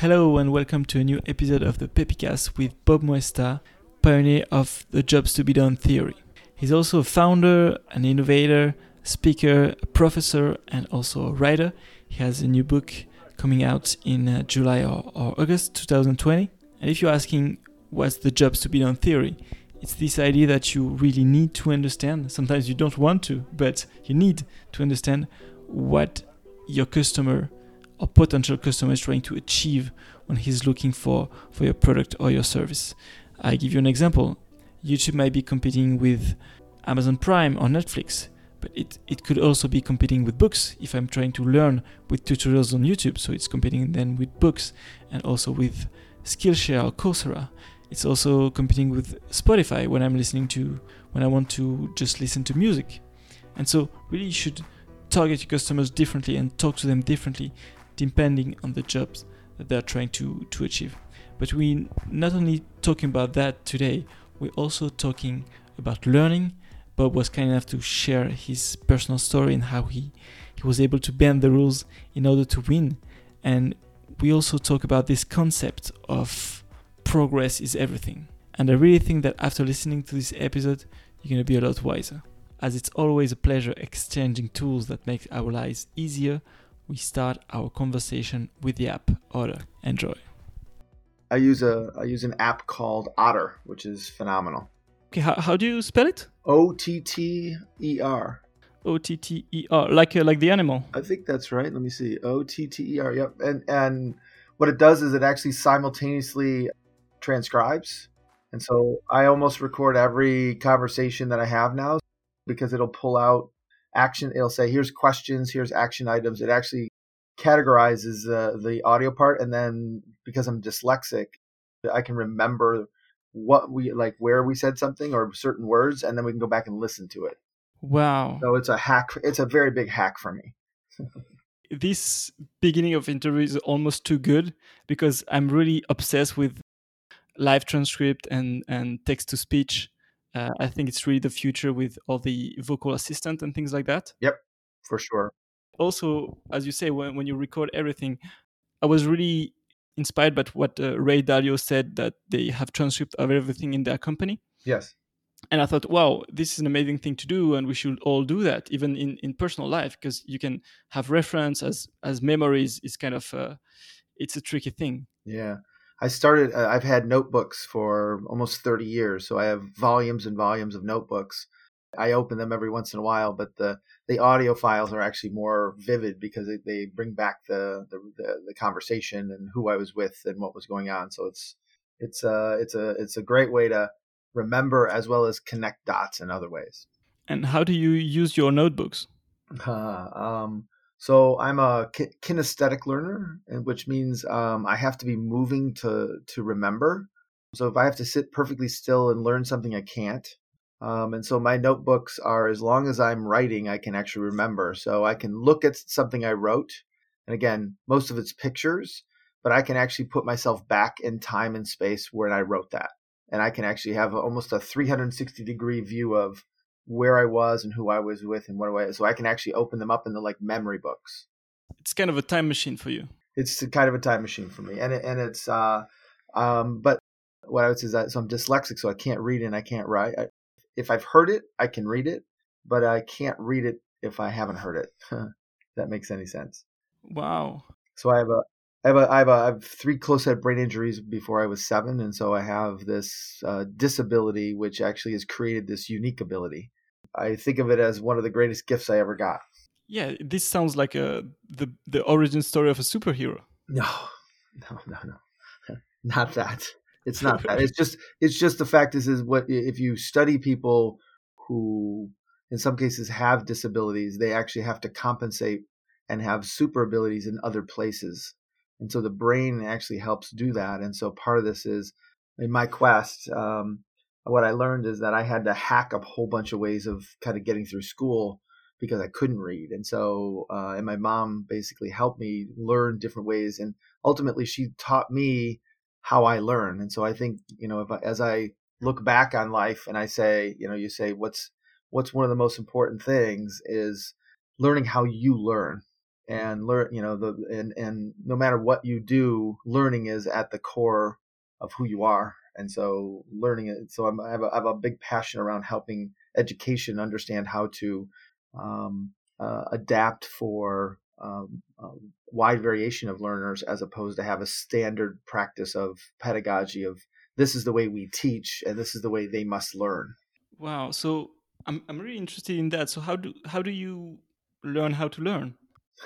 Hello and welcome to a new episode of the Pepicast with Bob Muesta, pioneer of the Jobs to be Done theory. He's also a founder, an innovator, speaker, a professor, and also a writer. He has a new book coming out in July or August 2020. And if you're asking what's the Jobs to be Done theory, it's this idea that you really need to understand. Sometimes you don't want to, but you need to understand what your customer or potential customer is trying to achieve when he's looking for your product or your service. I give you an example. YouTube might be competing with Amazon Prime or Netflix, but it could also be competing with books if I'm trying to learn with tutorials on YouTube. So it's competing then with books and also with Skillshare or Coursera. It's also competing with Spotify when I want to just listen to music. And so really you should target your customers differently and talk to them differently depending on the jobs that they're trying to achieve. But we're not only talking about that today, we're also talking about learning. Bob was kind enough to share his personal story and how he was able to bend the rules in order to win. And we also talk about this concept of progress is everything. And I really think that after listening to this episode, you're going to be a lot wiser. As it's always a pleasure exchanging tools that make our lives easier, we start our conversation with the app Otter. Enjoy. I use an app called Otter, which is phenomenal. Okay, how do you spell it? Otter. Otter, like the animal. I think that's right. Let me see. Otter. Yep. And what it does is it actually simultaneously transcribes. And so I almost record every conversation that I have now because it'll pull out action. It'll say, here's questions, here's action items. It actually categorizes the audio part. And then because I'm dyslexic, I can remember where we said something or certain words, and then we can go back and listen to it. Wow. So it's a hack. It's a very big hack for me. This beginning of interview is almost too good because I'm really obsessed with live transcript and text to speech. I think it's really the future with all the vocal assistant and things like that. Yep, for sure. Also, as you say, when you record everything, I was really inspired by what Ray Dalio said, that they have transcript of everything in their company. Yes. And I thought, wow, this is an amazing thing to do, and we should all do that, even in personal life, because you can have reference as memories. Is kind of it's a tricky thing. Yeah. I've had notebooks for almost 30 years. So I have volumes and volumes of notebooks. I open them every once in a while, but the audio files are actually more vivid because they bring back the conversation and who I was with and what was going on. So it's a great way to remember as well as connect dots in other ways. And how do you use your notebooks? So I'm a kinesthetic learner, which means I have to be moving to remember. So if I have to sit perfectly still and learn something, I can't. And so my notebooks are, as long as I'm writing, I can actually remember. So I can look at something I wrote. And again, most of it's pictures, but I can actually put myself back in time and space when I wrote that. And I can actually have almost a 360-degree view of where I was and who I was with and so I can actually open them up in the memory books. It's kind of a time machine for you. It's kind of a time machine for me, and it's but what I would say is that so I'm dyslexic, so I can't read and I can't write. If I've heard it, I can read it, but I can't read it if I haven't heard it. If that makes any sense. Wow. So I have 3 close-head brain injuries before I was 7, and so I have this disability, which actually has created this unique ability. I think of it as one of the greatest gifts I ever got. Yeah, this sounds like the origin story of a superhero. No, not that. It's not that. It's just the fact is what if you study people who, in some cases, have disabilities, they actually have to compensate and have super abilities in other places. And so the brain actually helps do that. And so part of this is, in my quest, what I learned is that I had to hack a whole bunch of ways of kind of getting through school because I couldn't read. And so, and my mom basically helped me learn different ways. And ultimately, she taught me how I learn. And so I think, as I look back on life and I say, you say, what's one of the most important things is learning how you learn. and learn, and no matter what you do, learning is at the core of who you are. And so learning it. So I have a big passion around helping education understand how to adapt for wide variation of learners, as opposed to have a standard practice of pedagogy of this is the way we teach and this is the way they must learn. Wow. So I'm really interested in that. So how do you learn how to learn?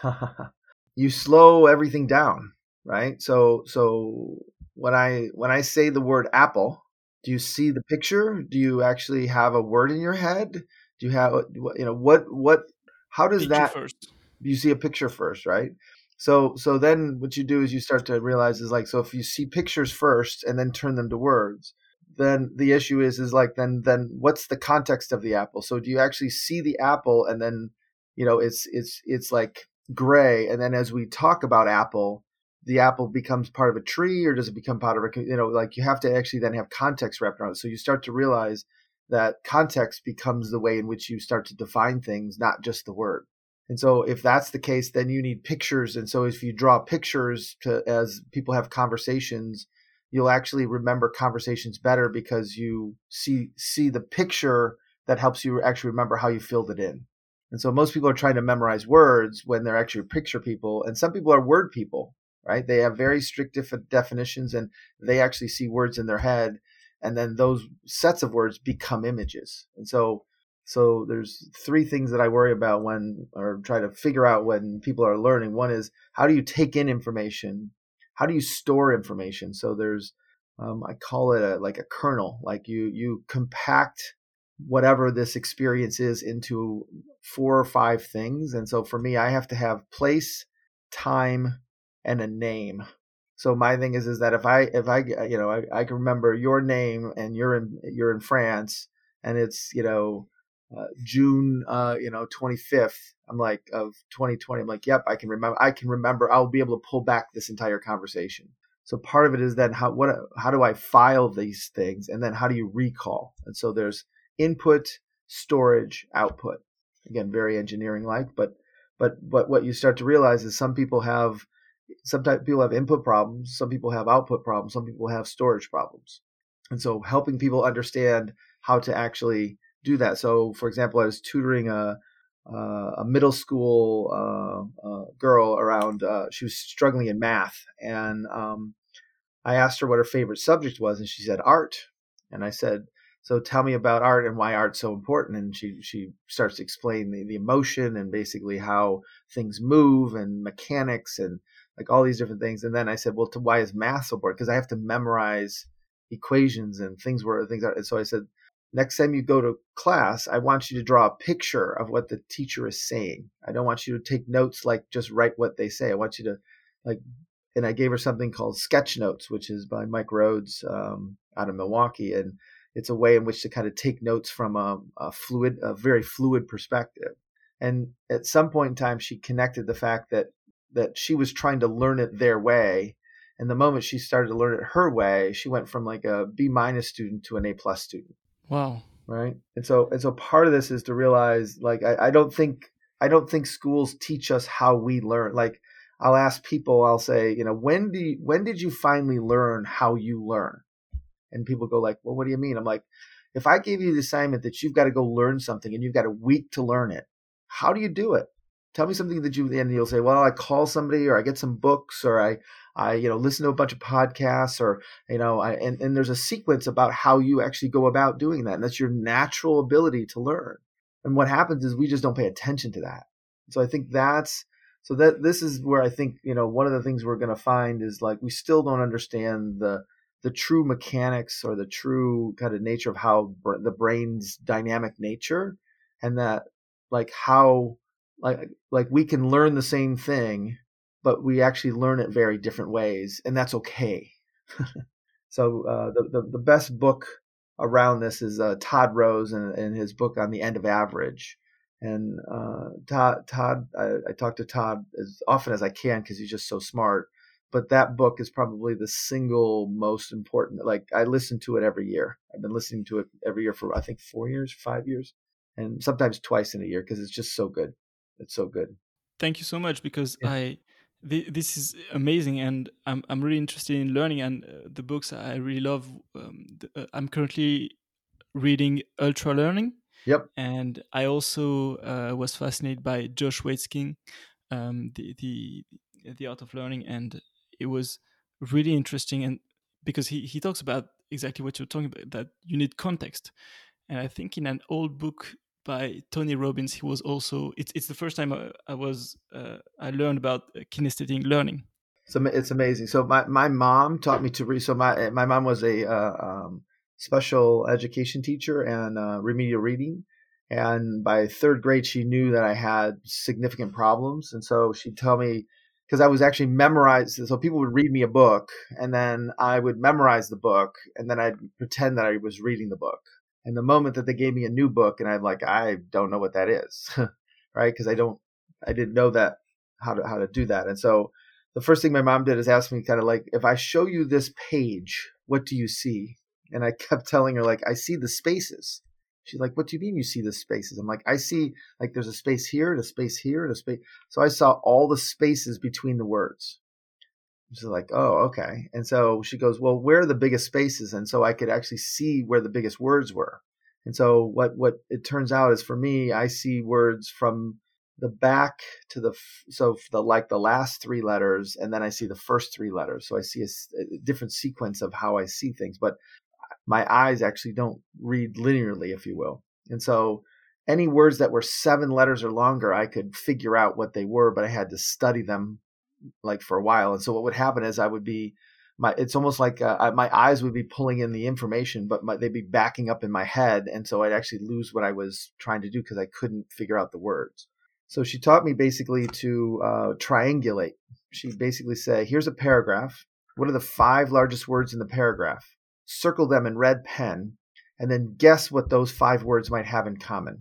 You slow everything down, right? So when I say the word apple, do you see the picture? Do you actually have a word in your head? Do you have what how does Picture that first. you see a picture first, right? So then what you do is you start to realize is like, so if you see pictures first and then turn them to words, then the issue is like, then what's the context of the apple? So do you actually see the apple and then it's like gray, and then as we talk about apple, the apple becomes part of a tree, or does it become part of like you have to actually then have context wrapped around it. So you start to realize that context becomes the way in which you start to define things, not just the word. And so if that's the case, then you need pictures. And so if you draw pictures as people have conversations, you'll actually remember conversations better, because you see the picture that helps you actually remember how you filled it in. And so most people are trying to memorize words when they're actually picture people. And some people are word people, right? They have very strict definitions, and they actually see words in their head. And then those sets of words become images. And so there's three things that I worry about or try to figure out when people are learning. One is, how do you take in information? How do you store information? So there's, I call it like a kernel. Like you compact whatever this experience is into 4 or 5 things. And so for me, I have to have place, time, and a name. So my thing is that if I I can remember your name, and you're in France, and it's June 25th, I'm like, of 2020, I'm like, yep, I can remember. I'll be able to pull back this entire conversation. So part of it is then how do I file these things, and then how do you recall? And so there's input, storage, output. Again, very engineering like, but what you start to realize is sometimes people have input problems, some people have output problems, some people have storage problems. And so helping people understand how to actually do that. So for example, I was tutoring a middle school girl around, she was struggling in math, and I asked her what her favorite subject was, and she said art. And I said, so tell me about art and why art's so important. And she starts to explain the emotion and basically how things move and mechanics and like all these different things. And then I said, well, why is math so important? Because I have to memorize equations and things are. And so I said, next time you go to class, I want you to draw a picture of what the teacher is saying. I don't want you to take notes, like just write what they say. I want you to and I gave her something called Sketch Notes, which is by Mike Rhodes out of Milwaukee. And it's a way in which to kind of take notes from a very fluid perspective. And at some point in time, she connected the fact that she was trying to learn it their way. And the moment she started to learn it her way, she went from like a B- student to an A+ student. Wow. Right. And so part of this is to realize, like, I don't think schools teach us how we learn. Like, I'll ask people, I'll say, when did you finally learn how you learn? And people go like, well, what do you mean? I'm like, if I gave you the assignment that you've got to go learn something and you've got a week to learn it, how do you do it? Tell me something and you'll say, well, I call somebody, or I get some books, or I listen to a bunch of podcasts, or, and there's a sequence about how you actually go about doing that. And that's your natural ability to learn. And what happens is we just don't pay attention to that. So I think this is where I think, one of the things we're going to find is like, we still don't understand the true mechanics or the true kind of nature of how the brain's dynamic nature, and that like how like we can learn the same thing, but we actually learn it very different ways, and that's okay. So the best book around this is Todd Rose and his book on the end of average. And Todd, I talk to Todd as often as I can because he's just so smart. But that book is probably the single most important. Like, I listen to it every year. I've been listening to it every year for, I think, 4 years, 5 years, and sometimes twice in a year, because it's just so good. It's so good. Thank you so much, because Yeah. this is amazing, and I'm really interested in learning, and the books I really love. I'm currently reading Ultra Learning, Yep. and I also was fascinated by Josh Waitzkin, the art of learning, and it was really interesting, and because he talks about exactly what you're talking about, that you need context. And I think in an old book by Tony Robbins, he was also, it's the first time I learned about kinesthetic learning. So it's amazing. So my mom taught me to read. So my mom was a special education teacher and remedial reading. And by third grade, she knew that I had significant problems, and so she'd tell me, because I was actually memorized. So people would read me a book, and then I would memorize the book, and then I'd pretend that I was reading the book. And the moment that they gave me a new book, and I'm like, I don't know what that is, right? Because I didn't know that how to do that, and so the first thing my mom did is ask me kind of like, if I show you this page, what do you see? And I kept telling her, like, I see the spaces. She's like, what do you mean you see the spaces? I'm like, I see, like, there's a space here, and a space here, and a space. So I saw all the spaces between the words. She's like, oh, okay. And so she goes, well, where are the biggest spaces? And so I could actually see where the biggest words were. And so what it turns out is, for me, I see words from the back to the last three letters, and then I see the first three letters. So I see a different sequence of how I see things, but my eyes actually don't read linearly, if you will. And so any words that were 7 letters or longer, I could figure out what they were, but I had to study them like for a while. And so what would happen is I would be it's almost like my eyes would be pulling in the information, but they'd be backing up in my head. And so I'd actually lose what I was trying to do because I couldn't figure out the words. So she taught me basically to triangulate. She'd basically say, here's a paragraph. What are the 5 largest words in the paragraph? Circle them in red pen, and then guess what those 5 words might have in common.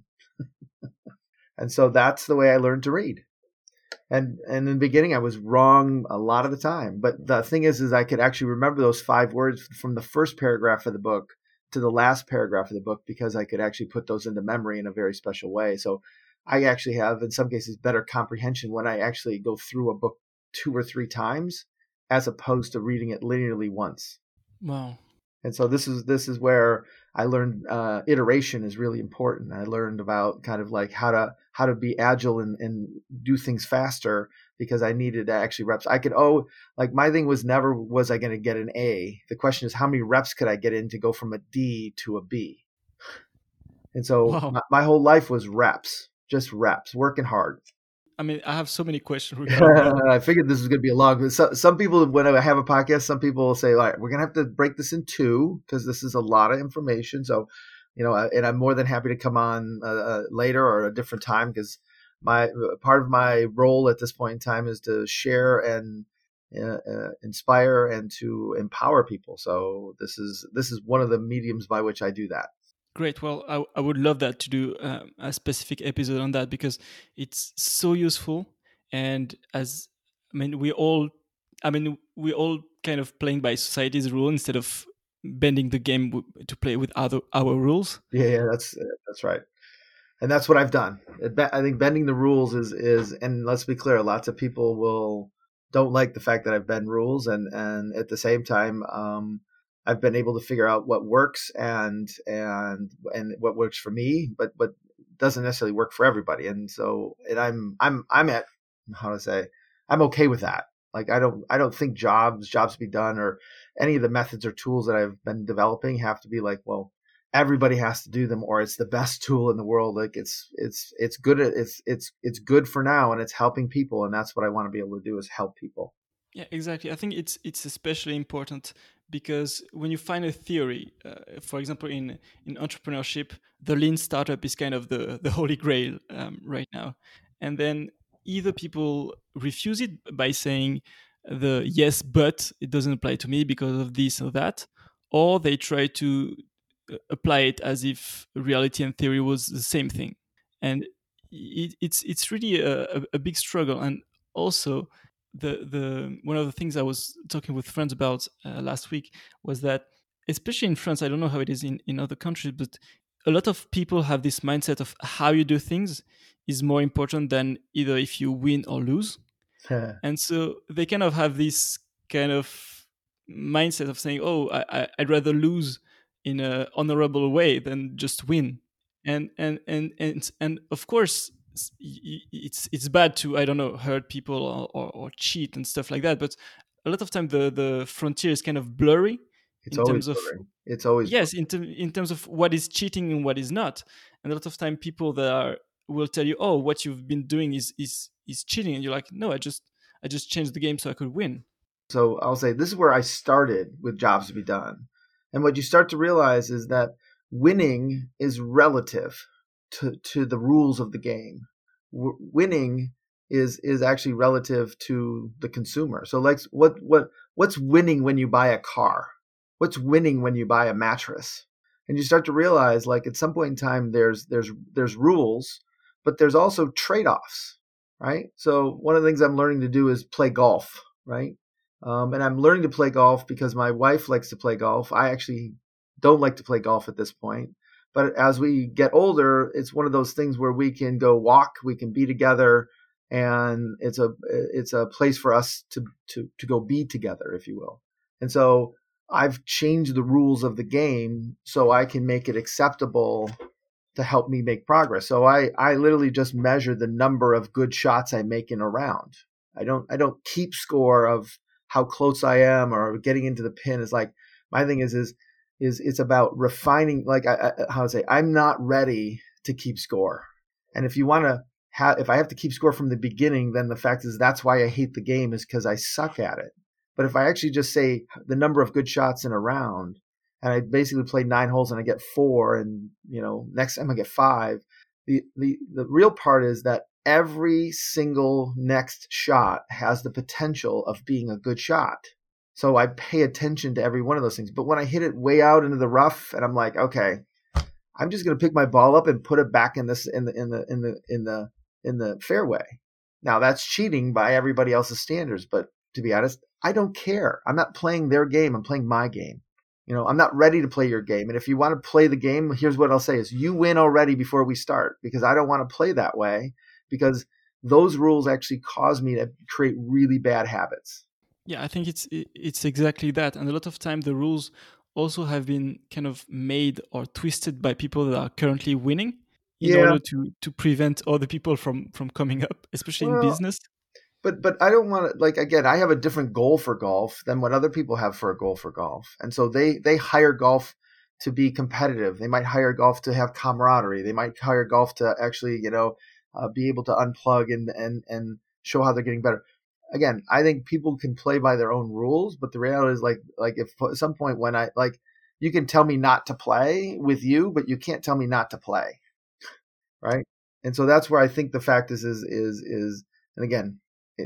And so that's the way I learned to read. And in the beginning, I was wrong a lot of the time. But the thing is I could actually remember those 5 words from the first paragraph of the book to the last paragraph of the book, because I could actually put those into memory in a very special way. So I actually have, in some cases, better comprehension when I actually go through a book 2 or 3 times, as opposed to reading it linearly once. Wow. And so this is where I learned iteration is really important. I learned about kind of like how to be agile and do things faster, because I needed to actually reps. I could like my thing was never was I going to get an A. The question is, how many reps could I get in to go from a D to a B? And so Wow. my whole life was reps, just reps, working hard. I mean, I have so many questions regarding that. I figured this was going to be a long. Some people, when I have a podcast, some people will say, "All right, we're going to have to break this in 2 because this is a lot of information." So, and I'm more than happy to come on later or a different time, because my part of my role at this point in time is to share and inspire and to empower people. So this is one of the mediums by which I do that. Great. Well, I would love that to do a specific episode on that, because it's so useful. And I mean, we all kind of playing by society's rule instead of bending the game to play with our rules. Yeah, that's right. And that's what I've done. I think bending the rules is, and let's be clear, lots of people don't like the fact that I've bent rules, and at the same time, I've been able to figure out what works and what works for me, but doesn't necessarily work for everybody. And so, I'm at, how to say, I'm okay with that. Like I don't think jobs to be done, or any of the methods or tools that I've been developing have to be like, well, everybody has to do them, or it's the best tool in the world. Like it's good. It's good for now, and it's helping people. And that's what I want to be able to do, is help people. Yeah, exactly. I think it's especially important because when you find a theory, for example, in entrepreneurship, the lean startup is kind of the holy grail right now. And then either people refuse it by saying the yes, but it doesn't apply to me because of this or that, or they try to apply it as if reality and theory was the same thing. And it's really a big struggle. And also, the one of the things I was talking with friends about last week was that, especially in France, I don't know how it is in other countries, but a lot of people have this mindset of how you do things is more important than either if you win or lose. And so they kind of have this kind of mindset of saying, "Oh, I'd rather lose in a honorable way than just win." And of course, it's bad to, I don't know, hurt people or cheat and stuff like that. But a lot of time the frontier is kind of blurry It's in always terms of, blurry. It's always yes, in terms of what is cheating and what is not. And a lot of time people that are will tell you, "Oh, what you've been doing is cheating," and you're like, "No, I just changed the game so I could win." So I'll say this is where I started with Jobs to Be Done. And what you start to realize is that winning is relative to the rules of the game. Winning is actually relative to the consumer. So like what's winning when you buy a car? What's winning when you buy a mattress? And you start to realize, like, at some point in time there's rules, but there's also trade-offs, right? So one of the things I'm learning to do is play golf, right? And I'm learning to play golf because my wife likes to play golf. I actually don't like to play golf at this point. But as we get older, it's one of those things where we can go walk, we can be together, and it's a place for us to go be together, if you will. And so I've changed the rules of the game so I can make it acceptable to help me make progress. So I literally just measure the number of good shots I make in a round. I don't keep score of how close I am or getting into the pin. Is like, my thing is it's about refining. Like, I'm not ready to keep score. And if you want to if I have to keep score from the beginning, then the fact is that's why I hate the game, is because I suck at it. But if I actually just say the number of good shots in a round, and I basically play 9 holes and I get 4, and next time I get 5, the real part is that every single next shot has the potential of being a good shot. So I pay attention to every one of those things. But when I hit it way out into the rough, and I'm like, okay, I'm just going to pick my ball up and put it back in the fairway. Now that's cheating by everybody else's standards, but to be honest, I don't care. I'm not playing their game. I'm playing my game. I'm not ready to play your game. And if you want to play the game, here's what I'll say is you win already before we start, because I don't want to play that way, because those rules actually cause me to create really bad habits. Yeah, I think it's exactly that. And a lot of time the rules also have been kind of made or twisted by people that are currently winning in order to prevent other people from coming up, especially in business. But I don't want to, like, again, I have a different goal for golf than what other people have for a goal for golf. And so they hire golf to be competitive. They might hire golf to have camaraderie. They might hire golf to actually, be able to unplug and show how they're getting better. Again, I think people can play by their own rules, but the reality is like if at some point when you can tell me not to play with you, but you can't tell me not to play. Right. And so that's where I think the fact is, and again,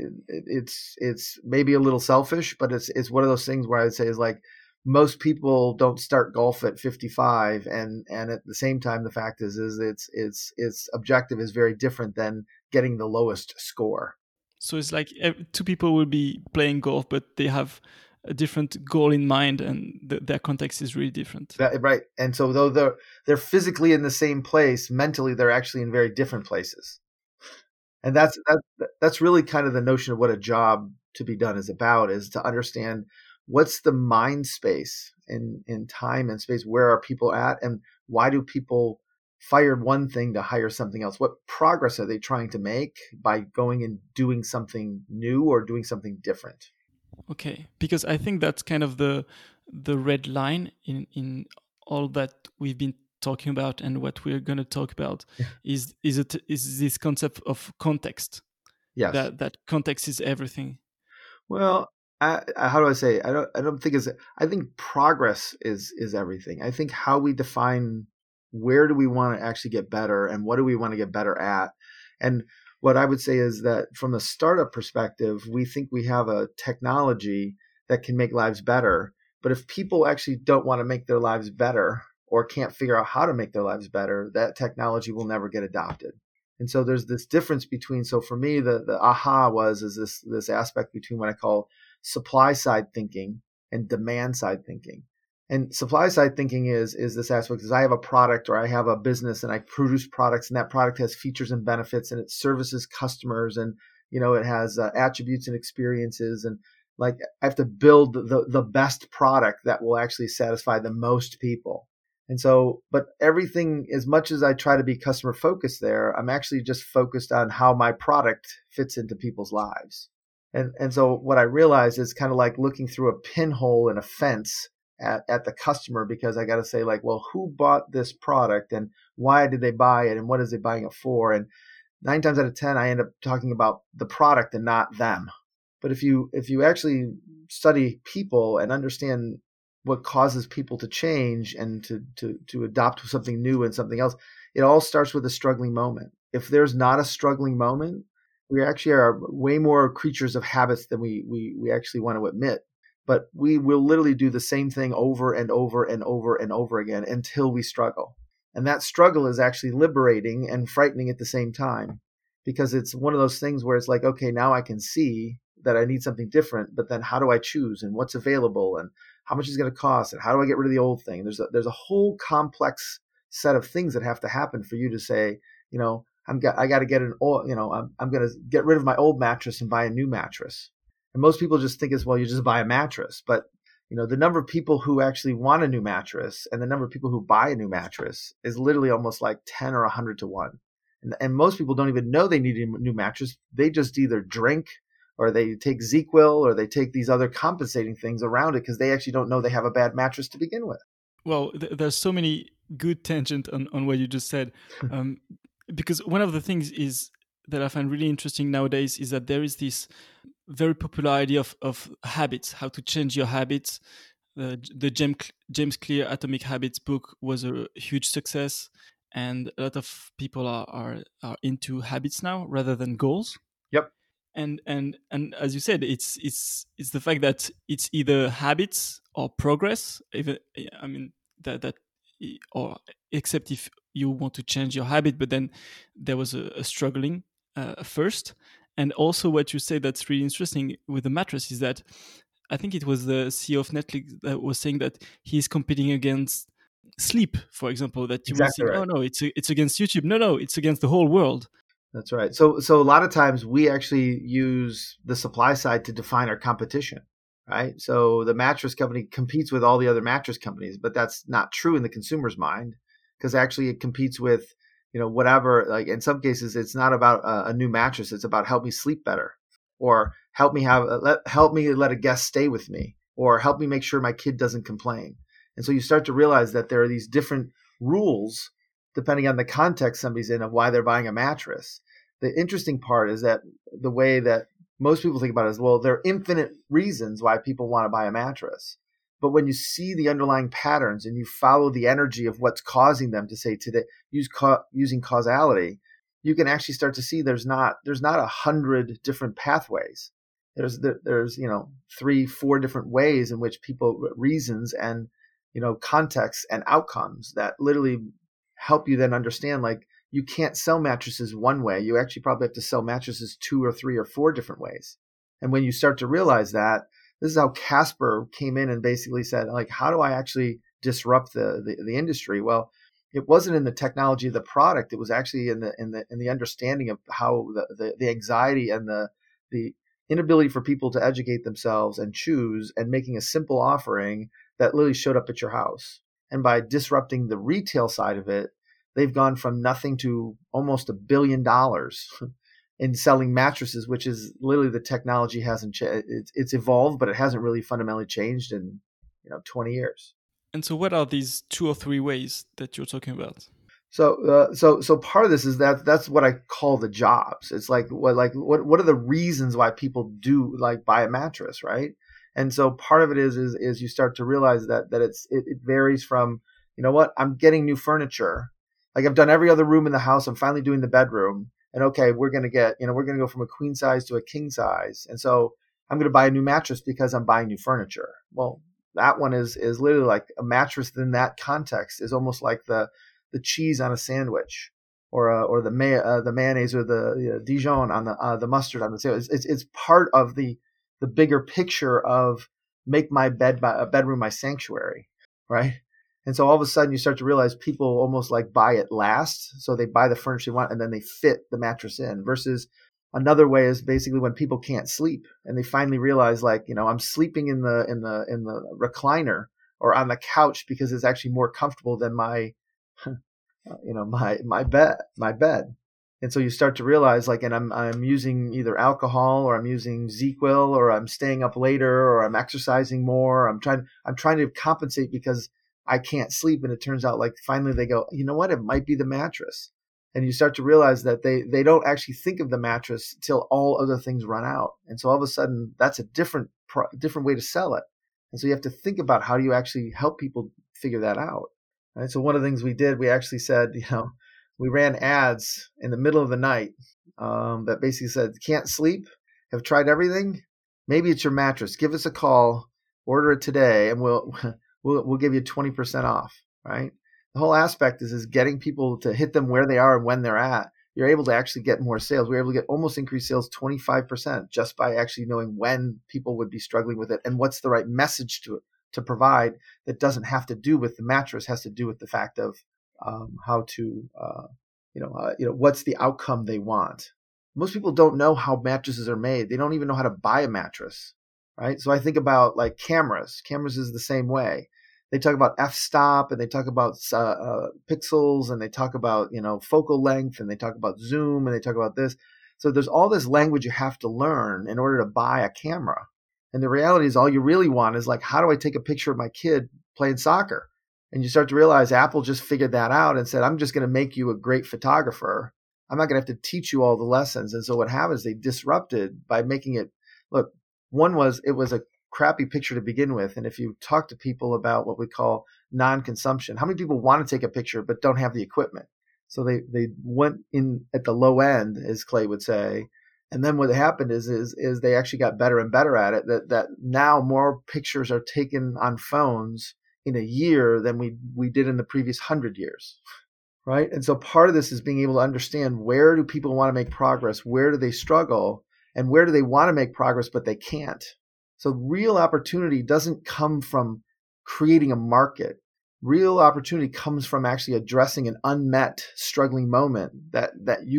it's maybe a little selfish, but it's one of those things where I would say is like, most people don't start golf at 55, and at the same time, the fact is its objective is very different than getting the lowest score. So it's like 2 people will be playing golf, but they have a different goal in mind, and their context is really different. Right. And so though they're physically in the same place, mentally they're actually in very different places. And that's really kind of the notion of what a job to be done is about, is to understand what's the mind space in time and space, where are people at, and why do people fire one thing to hire something else? What progress are they trying to make by going and doing something new or doing something different? Okay, because I think that's kind of the red line in all that we've been talking about, and what we're going to talk about is this concept of context. Yes, that context is everything. Well, how do I say? I don't think I think progress is everything. I think how we define where do we want to actually get better, and what do we want to get better at. And what I would say is that from a startup perspective, we think we have a technology that can make lives better. But if people actually don't want to make their lives better, or can't figure out how to make their lives better, that technology will never get adopted. And so there's this difference between, so for me, the aha is this aspect between what I call supply side thinking and demand side thinking. And supply side thinking is this aspect is I have a product or I have a business and I produce products, and that product has features and benefits and it services customers, and it has attributes and experiences, and like I have to build the best product that will actually satisfy the most people. And so, but everything, as much as I try to be customer focused there, I'm actually just focused on how my product fits into people's lives. And so what I realized is kind of like looking through a pinhole in a fence at the customer, because I got to say, like, well, who bought this product and why did they buy it and what is they buying it for? And 9 times out of 10, I end up talking about the product and not them. But if you actually study people and understand what causes people to change and to adopt something new and something else, it all starts with a struggling moment. If there's not a struggling moment, we actually are way more creatures of habits than we actually want to admit. But we will literally do the same thing over and over and over and over again until we struggle. And that struggle is actually liberating and frightening at the same time, because it's one of those things where it's like, okay, now I can see that I need something different, but then how do I choose and what's available and how much is going to cost and how do I get rid of the old thing? There's a whole complex set of things that have to happen for you to say, I got to get I'm going to get rid of my old mattress and buy a new mattress. And most people just think as well, you just buy a mattress. But, the number of people who actually want a new mattress and the number of people who buy a new mattress is literally almost like 10 or 100 to 1. And most people don't even know they need a new mattress. They just either drink or they take ZzzQuil or they take these other compensating things around it because they actually don't know they have a bad mattress to begin with. Well, there's so many good tangents on what you just said. Because one of the things is that I find really interesting nowadays is that there is this very popular idea of habits, how to change your habits. The James Clear Atomic Habits book was a huge success, and a lot of people are into habits now rather than goals. Yep. And as you said, it's the fact that it's either habits or progress. Even that or except if you want to change your habit, but then there was a struggling first. And also what you say that's really interesting with the mattress is that I think it was the CEO of Netflix that was saying that he's competing against sleep, for example, that you Exactly will think, right. oh no, it's against YouTube. No, it's against the whole world. That's right. So a lot of times we actually use the supply side to define our competition, right? So the mattress company competes with all the other mattress companies, but that's not true in the consumer's mind, because actually it competes with, whatever. Like in some cases, it's not about a new mattress. It's about help me sleep better, or help me let a guest stay with me, or help me make sure my kid doesn't complain. And so you start to realize that there are these different rules depending on the context somebody's in of why they're buying a mattress. The interesting part is that the way that most people think about it is, well, there are infinite reasons why people want to buy a mattress. But when you see the underlying patterns and you follow the energy of what's causing them to say today, using causality, you can actually start to see there's not 100 different pathways. There's 3-4 different ways in which people reasons and contexts and outcomes that literally help you then understand, like, you can't sell mattresses one way. You actually probably have to sell mattresses 2 or 3 or 4 different ways. And when you start to realize that, this is how Casper came in and basically said, like, how do I actually disrupt the industry? Well, it wasn't in the technology of the product. It was actually in the understanding of how the anxiety and the inability for people to educate themselves and choose, and making a simple offering that literally showed up at your house. And by disrupting the retail side of it, they've gone from nothing to almost $1 billion in selling mattresses, which is literally the technology hasn't changed. It's evolved, but it hasn't really fundamentally changed in 20 years. And so what are these 2 or 3 ways that you're talking about? So part of this is that's what I call the jobs. It's like what are the reasons why people do like buy a mattress, right? And so part of it is you start to realize that it varies from, I'm getting new furniture. Like I've done every other room in the house. I'm finally doing the bedroom. And okay, we're going to go from a queen size to a king size. And so I'm going to buy a new mattress because I'm buying new furniture. Well, that one is literally like a mattress in that context is almost like the cheese on a sandwich, or the mayonnaise or the Dijon on the mustard on the sandwich. It's part of the bigger picture of make my bedroom my sanctuary. right? And so all of a sudden you start to realize people almost like buy it last. So they buy the furniture they want and then they fit the mattress in, versus another way is basically when people can't sleep and they finally realize, like, I'm sleeping in the recliner or on the couch because it's actually more comfortable than my my bed. And so you start to realize, like, and I'm using either alcohol or I'm using ZzzQuil or I'm staying up later or I'm exercising more. I'm trying to compensate because I can't sleep. And it turns out, like, finally they go, you know what? It might be the mattress. And you start to realize that they don't actually think of the mattress till all other things run out. And so all of a sudden that's a different way to sell it. And so you have to think about how do you actually help people figure that out. Right? So one of the things we did, we actually said, we ran ads in the middle of the night that basically said, can't sleep, have tried everything. Maybe it's your mattress. Give us a call, order it today, and we'll give you 20% off, right? The whole aspect is getting people to hit them where they are and when they're at. You're able to actually get more sales. We're able to get almost increased sales 25% just by actually knowing when people would be struggling with it and what's the right message to provide that doesn't have to do with the mattress, has to do with the fact of how to, what's the outcome they want. Most people don't know how mattresses are made. They don't even know how to buy a mattress, right? So I think about like cameras. Cameras is the same way. They talk about f-stop and they talk about pixels and they talk about, focal length and they talk about zoom and they talk about this. So there's all this language you have to learn in order to buy a camera. And the reality is all you really want is like, how do I take a picture of my kid playing soccer? And you start to realize Apple just figured that out and said, I'm just going to make you a great photographer. I'm not going to have to teach you all the lessons. And so what happened is they disrupted by making it, look, it was a crappy picture to begin with. And if you talk to people about what we call non-consumption, how many people want to take a picture but don't have the equipment? So they went in at the low end, as Clay would say. And then what happened is they actually got better and better at it, that now more pictures are taken on phones in a year than we did in the previous 100 years, right? And so part of this is being able to understand, where do people want to make progress? Where do they struggle? And where do they want to make progress, but they can't? So real opportunity doesn't come from creating a market. Real opportunity comes from actually addressing an unmet, struggling moment that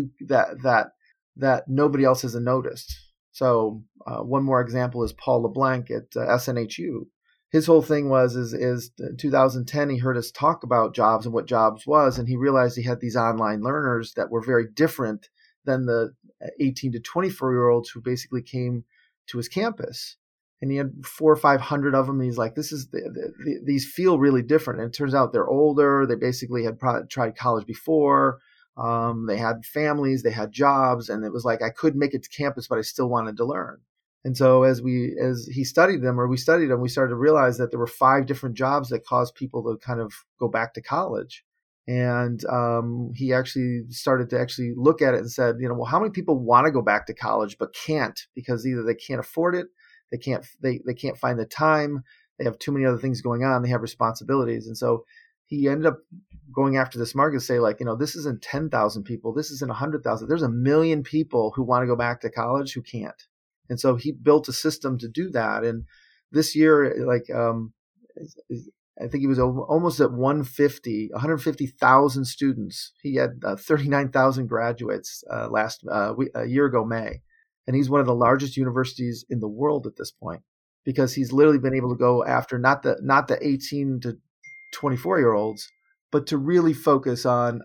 nobody else has noticed. So one more example is Paul LeBlanc at SNHU. His whole thing is in 2010, he heard us talk about jobs and what jobs was, and he realized he had these online learners that were very different than the 18 to 24-year-olds who basically came to his campus. And he had 400 or 500 of them. And he's like, these feel really different. And it turns out they're older. They basically had tried college before. They had families, they had jobs. And it was like, I couldn't make it to campus, but I still wanted to learn. And so as we studied them, we started to realize that there were 5 different jobs that caused people to kind of go back to college. And he actually started to actually look at it and said, well, how many people want to go back to college but can't, because either they can't afford it, they can't find the time, they have too many other things going on, they have responsibilities. And so he ended up going after this market to say, like, this isn't 10,000 people, this isn't 100,000. There's 1 million people who want to go back to college who can't. And so he built a system to do that. And this year, like, I think he was almost at 150,000 students. He had 39,000 graduates a year ago, May. And he's one of the largest universities in the world at this point, because he's literally been able to go after not the 18 to 24-year-olds, but to really focus on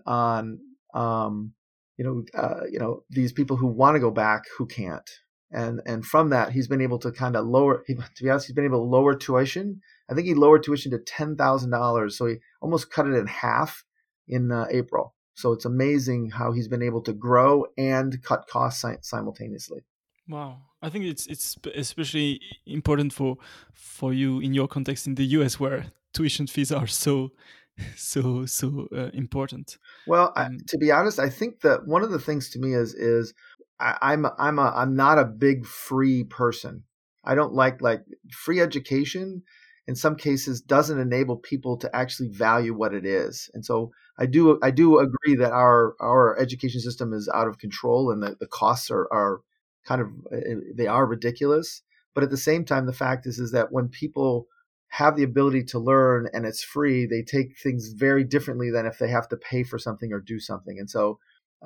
these people who want to go back who can't. And from that, he's been able to kind of he's been able to lower tuition. I think he lowered tuition to $10,000. So he almost cut it in half in April. So it's amazing how he's been able to grow and cut costs simultaneously. Wow. I think it's especially important for you in your context in the US, where tuition fees are so important. Well, to be honest, I think that one of the things to me is I'm not a big free person. I don't like free education. In some cases, doesn't enable people to actually value what it is. And so I do agree that our education system is out of control and the costs are kind of, they are ridiculous. But at the same time, the fact is that when people have the ability to learn and it's free, they take things very differently than if they have to pay for something or do something. And so,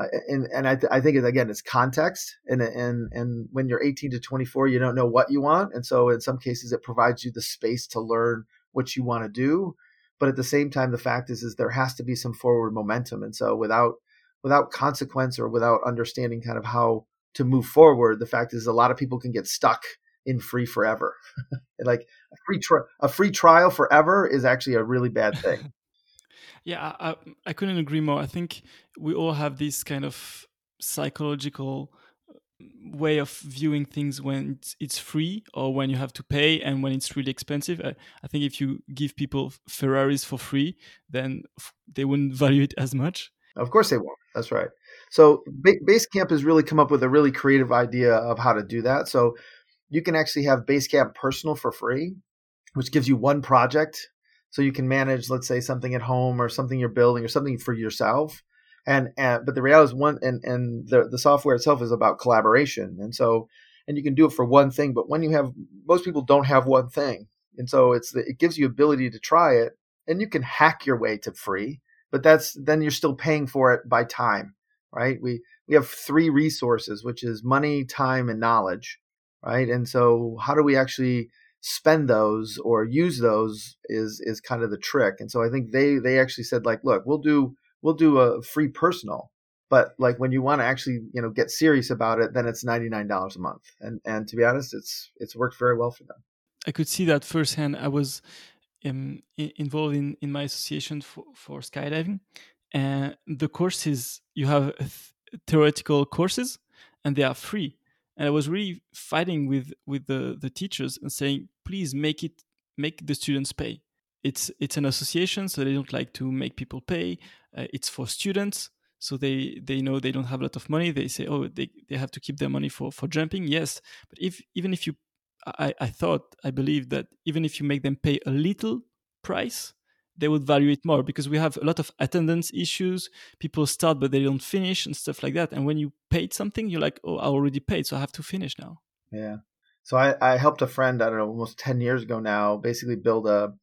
I think again, it's context. And when you're 18 to 24, you don't know what you want. And so in some cases, it provides you the space to learn what you want to do. But at the same time, the fact is there has to be some forward momentum. And so without consequence or without understanding kind of how to move forward, the fact is a lot of people can get stuck in free forever. Like a free trial forever is actually a really bad thing. Yeah, I couldn't agree more. I think we all have this kind of psychological way of viewing things when it's free or when you have to pay and when it's really expensive. I think if you give people Ferraris for free, then they wouldn't value it as much. Of course they won't. That's right. So Basecamp has really come up with a really creative idea of how to do that. So you can actually have Basecamp Personal for free, which gives you one project. So you can manage, let's say, something at home or something you're building or something for yourself. But the reality is the software itself is about collaboration. And you can do it for one thing, but most people don't have one thing. And so it gives you ability to try it, and you can hack your way to free, but then you're still paying for it by time, right? We have 3 resources, which is money, time, and knowledge, right? And so how do we actually spend those or use those is kind of the trick. And so I think they actually said, like, look, we'll do a free personal, but like when you want to actually, get serious about it, then it's $99 a month. And to be honest, it's worked very well for them. I could see that firsthand. I was involved in my association for skydiving, and the courses, you have theoretical courses and they are free. And I was really fighting with the teachers and saying, please make the students pay. It's an association, so they don't like to make people pay. It's for students, so they know they don't have a lot of money. They say, oh, they have to keep their money for jumping. Yes, but even if you, I believe that even if you make them pay a little price, they would value it more, because we have a lot of attendance issues. People start but they don't finish and stuff like that. And when you paid something, you're like, oh, I already paid, so I have to finish now. Yeah. So I helped a friend, I don't know, almost 10 years ago now, basically build a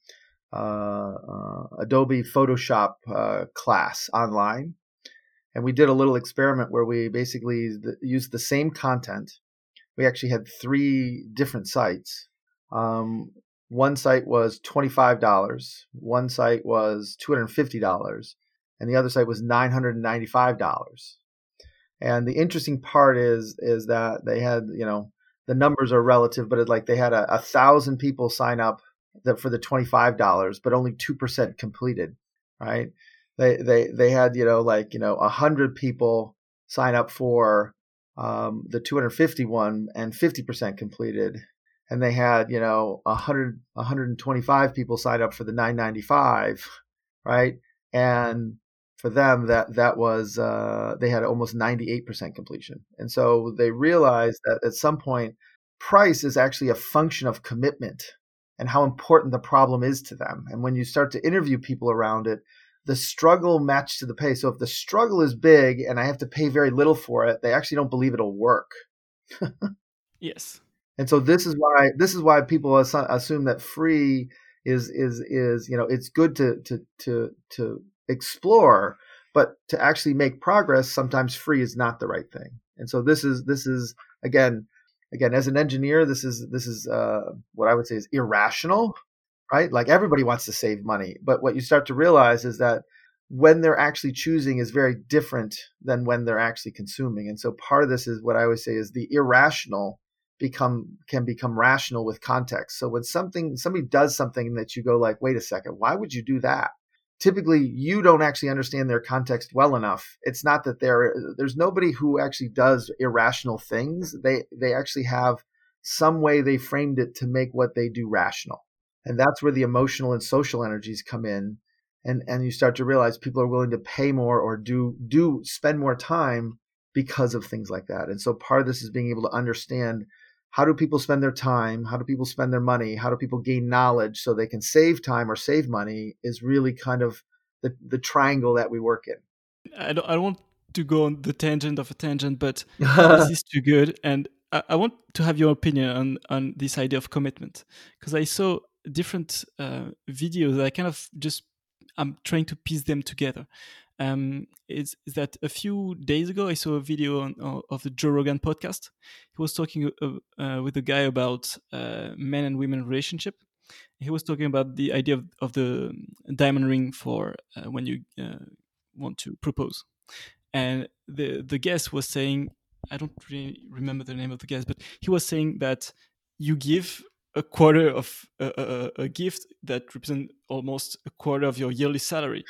Adobe Photoshop class online. And we did a little experiment where we basically used the same content. We actually had 3 different sites. One site was $25, one site was $250, and the other site was $995. And the interesting part is that they had, the numbers are relative, but they had 1,000 people sign up for the $25, but only 2% completed, right? They had 100 people sign up for the 251 and 50% completed. And they had, 125 people sign up for the 995, right? And for them, that was, they had almost 98% completion. And so they realized that at some point, price is actually a function of commitment and how important the problem is to them. And when you start to interview people around it, the struggle matched to the pay. So if the struggle is big and I have to pay very little for it, they actually don't believe it'll work. Yes. And so this is why people assume that free is it's good to explore, but to actually make progress, sometimes free is not the right thing. And so this is again as an engineer, this is what I would say is irrational, right? Like everybody wants to save money, but what you start to realize is that when they're actually choosing is very different than when they're actually consuming. And so part of this is what I always say is the irrational can become rational with context. So when somebody does something that you go like, wait a second, why would you do that? Typically, you don't actually understand their context well enough. It's not that there's nobody who actually does irrational things. They actually have some way they framed it to make what they do rational. And that's where the emotional and social energies come in. And you start to realize people are willing to pay more or do spend more time because of things like that. And so part of this is being able to understand, how do people spend their time? How do people spend their money? How do people gain knowledge so they can save time or save money, is really kind of the triangle that we work in. I don't want to go on the tangent of a tangent, but this is too good. And I want to have your opinion on this idea of commitment, because I saw different videos. I kind of just I'm trying to piece them together. Is that a few days ago I saw a video of the Joe Rogan podcast. He was talking with a guy about men and women relationship. He was talking about the idea of the diamond ring for when you want to propose. And the guest was saying, I don't really remember the name of the guest, but he was saying that you give a quarter of a gift that represents almost a quarter of your yearly salary.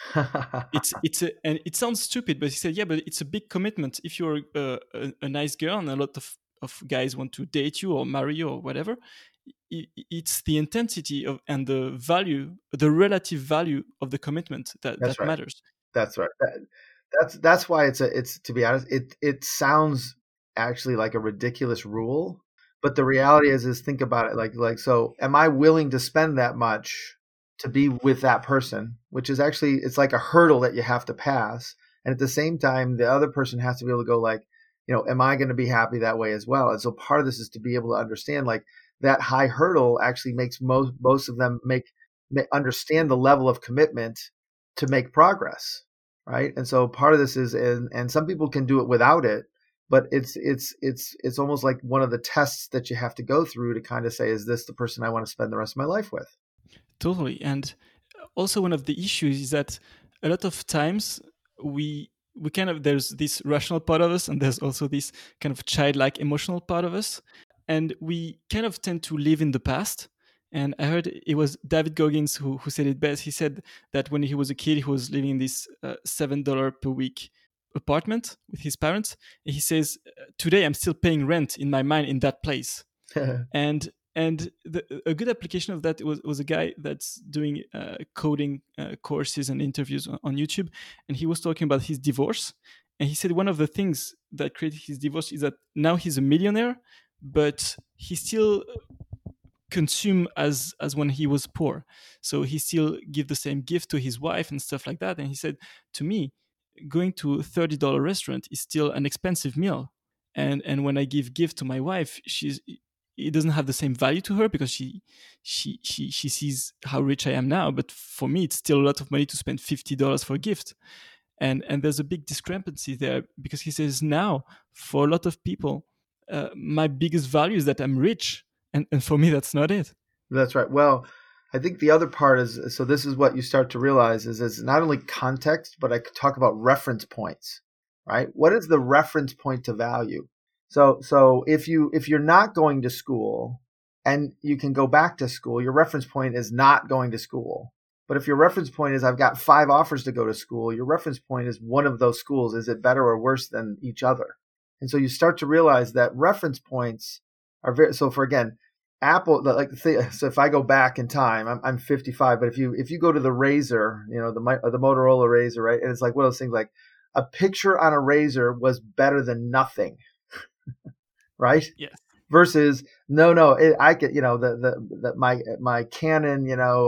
And it sounds stupid, but he said, yeah, but it's a big commitment. If you're a nice girl and a lot of guys want to date you or marry you or whatever, it's the intensity of and the value, the relative value of the commitment that That's right. matters. That's right. That's why it's to be honest, it sounds actually like a ridiculous rule, but the reality is think about it like so am I willing to spend that much to be with that person, which is actually it's like a hurdle that you have to pass, and at the same time the other person has to be able to go like, am I going to be happy that way as well? And so part of this is to be able to understand like that high hurdle actually makes most of them understand the level of commitment to make progress. Right. And so part of this is, and some people can do it without it, but it's almost like one of the tests that you have to go through to kind of say, is this the person I want to spend the rest of my life with? Totally. And also one of the issues is that a lot of times we kind of, there's this rational part of us and there's also this kind of childlike emotional part of us. And we kind of tend to live in the past. And I heard it was David Goggins who said it best. He said that when he was a kid, he was living in this $7 per week apartment with his parents. And he says, today I'm still paying rent in my mind in that place. And a good application of that was a guy that's doing coding courses and interviews on YouTube. And he was talking about his divorce. And he said one of the things that created his divorce is that now he's a millionaire, but he still consume as when he was poor. So he still give the same gift to his wife and stuff like that. And he said, to me, going to a $30 restaurant is still an expensive meal. And when I give gift to my wife, it doesn't have the same value to her because she sees how rich I am now. But for me, it's still a lot of money to spend $50 for a gift. And there's a big discrepancy there because he says now, for a lot of people, my biggest value is that I'm rich. And for me, that's not it. That's right. Well, I think the other part is, so this is what you start to realize is not only context, but I could talk about reference points, right? What is the reference point to value? So if you're not going to school and you can go back to school, your reference point is not going to school. But if your reference point is I've got 5 offers to go to school, your reference point is one of those schools. Is it better or worse than each other? And so you start to realize that reference points are very, so for again, Apple, so if I go back in time, I'm 55, but if you go to the Razr, the Motorola Razr, right? And it's like one of those things like a picture on a Razr was better than nothing, right? Yes. Versus I could, my Canon,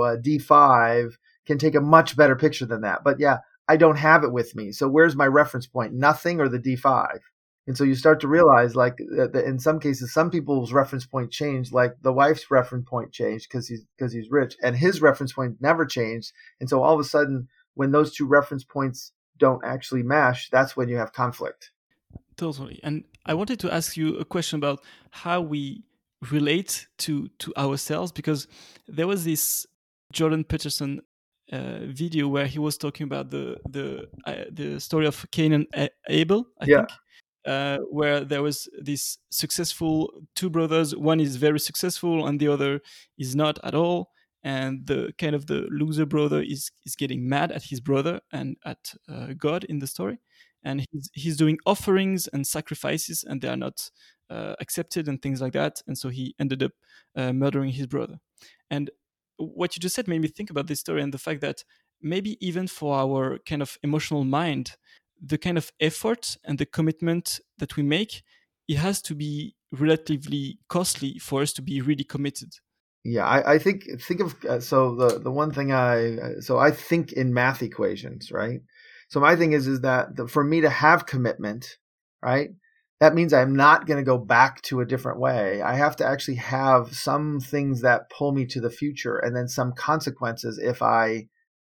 D5 can take a much better picture than that. But yeah, I don't have it with me. So where's my reference point? Nothing or the D5? And so you start to realize, like, that in some cases, some people's reference point changed. Like the wife's reference point changed because he's rich, and his reference point never changed. And so all of a sudden, when those two reference points don't actually match, that's when you have conflict. Totally. And I wanted to ask you a question about how we relate to ourselves, because there was this Jordan Peterson video where he was talking about the story of Cain and Abel, I think. Where there was this successful 2 brothers. One is very successful and the other is not at all. And the kind of the loser brother is getting mad at his brother and at God in the story. And he's doing offerings and sacrifices and they are not accepted and things like that. And so he ended up murdering his brother. And what you just said made me think about this story and the fact that maybe even for our kind of emotional mind, the kind of effort and the commitment that we make, it has to be relatively costly for us to be really committed. Yeah, I think of so the one thing I think in math equations, right? So my thing is that for me to have commitment, right, that means I'm not going to go back to a different way. I have to actually have some things that pull me to the future, and then some consequences if I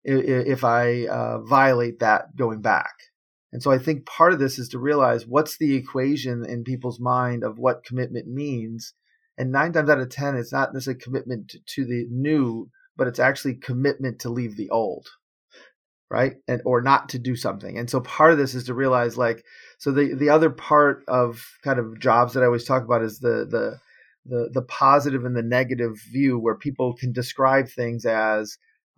violate that going back. And so I think part of this is to realize what's the equation in people's mind of what commitment means. And 9 times out of 10, it's not necessarily commitment to the new, but it's actually commitment to leave the old, right? And or not to do something. And so part of this is to realize, like, so the other part of kind of jobs that I always talk about is the positive and the negative view, where people can describe things as,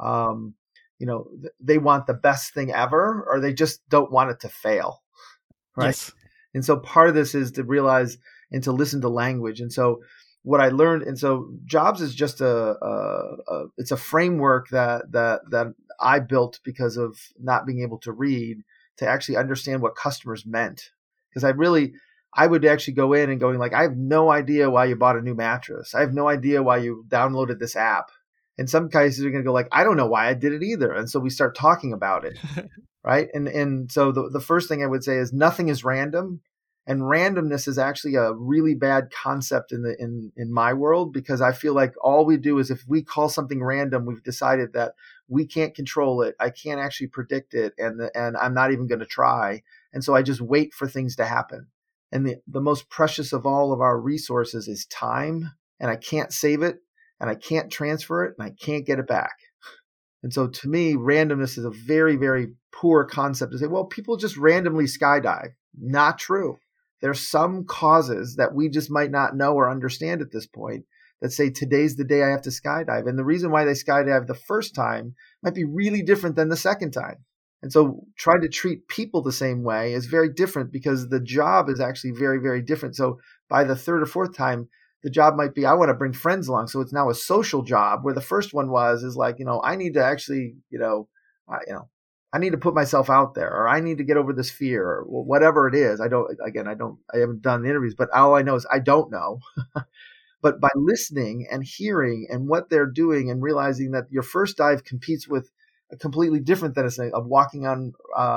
they want the best thing ever, or they just don't want it to fail, right? Yes. And so part of this is to realize and to listen to language. And so what I learned, and so jobs is just it's a framework that I built because of not being able to read, to actually understand what customers meant. Because I would actually go in and going like, I have no idea why you bought a new mattress. I have no idea why you downloaded this app. In some cases, you're going to go like, I don't know why I did it either. And so we start talking about it, right? And so the first thing I would say is nothing is random. And randomness is actually a really bad concept in my world, because I feel like all we do is, if we call something random, we've decided that we can't control it. I can't actually predict it. And I'm not even going to try. And so I just wait for things to happen. And the most precious of all of our resources is time. And I can't save it. And I can't transfer it, and I can't get it back. And so to me, randomness is a very, very poor concept to say, well, people just randomly skydive. Not true. There's some causes that we just might not know or understand at this point that say, today's the day I have to skydive. And the reason why they skydive the first time might be really different than the second time. And so trying to treat people the same way is very different, because the job is actually very, very different. So by the third or fourth time, the job might be, I want to bring friends along. So it's now a social job, where the first one is like, I need to actually, I need to put myself out there, or I need to get over this fear, or whatever it is. I haven't done the interviews, but all I know is I don't know. But by listening and hearing and what they're doing, and realizing that your first dive competes with a completely different than of walking on,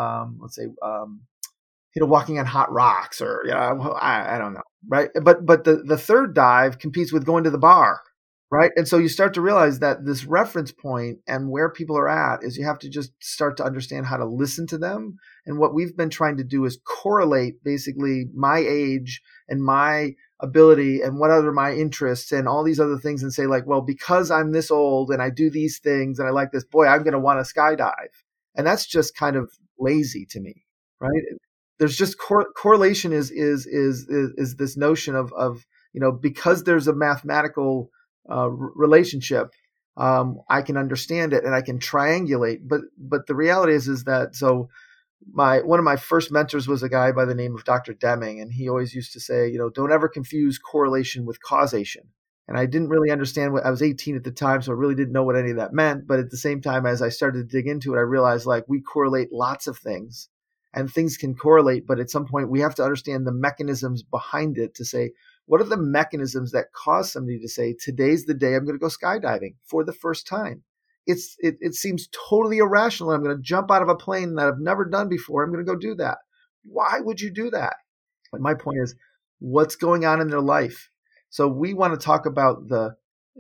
walking on hot rocks, or I don't know, right? But the third dive competes with going to the bar, right? And so you start to realize that this reference point and where people are at is, you have to just start to understand how to listen to them. And what we've been trying to do is correlate basically my age and my ability and what other my interests and all these other things, and say like, well, because I'm this old and I do these things and I like this, boy, I'm going to want to skydive. And that's just kind of lazy to me, right? There's just correlation is this notion of because there's a mathematical relationship, I can understand it and I can triangulate. But the reality is that, so one of my first mentors was a guy by the name of Dr. Deming, and he always used to say, don't ever confuse correlation with causation. And I didn't really understand I was 18 at the time, so I really didn't know what any of that meant. But at the same time, as I started to dig into it, I realized like we correlate lots of things. And things can correlate, but at some point we have to understand the mechanisms behind it to say, what are the mechanisms that cause somebody to say, today's the day I'm going to go skydiving for the first time? It seems totally irrational. I'm going to jump out of a plane that I've never done before. I'm going to go do that. Why would you do that? And my point is, what's going on in their life? So we want to talk about the